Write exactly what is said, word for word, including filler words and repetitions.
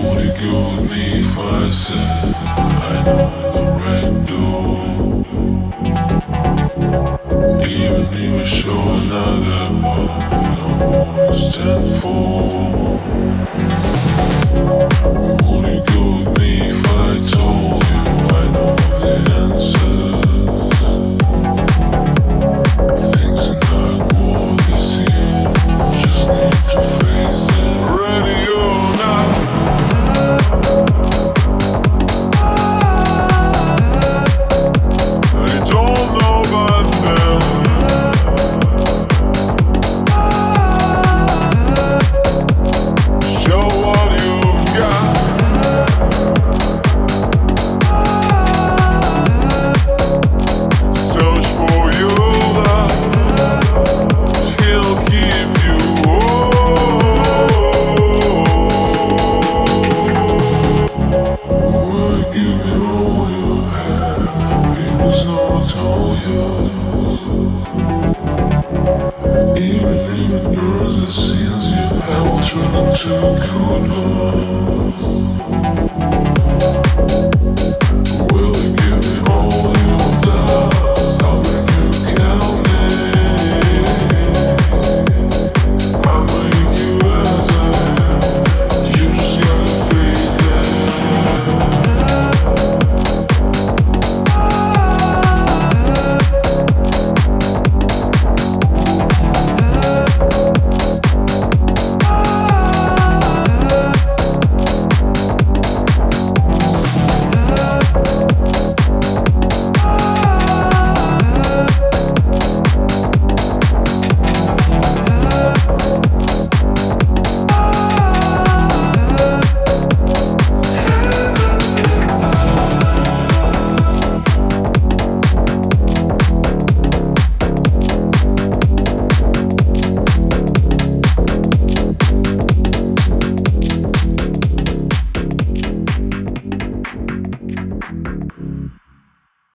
Would it go with me if I said I know the right door? Even if I show another path, no more to stand for. Would it go with me if I told you I know the answers? Things are not what they seem, just need to face it. Ready or not, I don't know about them. Show what you've got. Search for your love, he'll keep you whole. Give me all you have, it was not all yours. Even if it burns the scenes you have, turn into good love.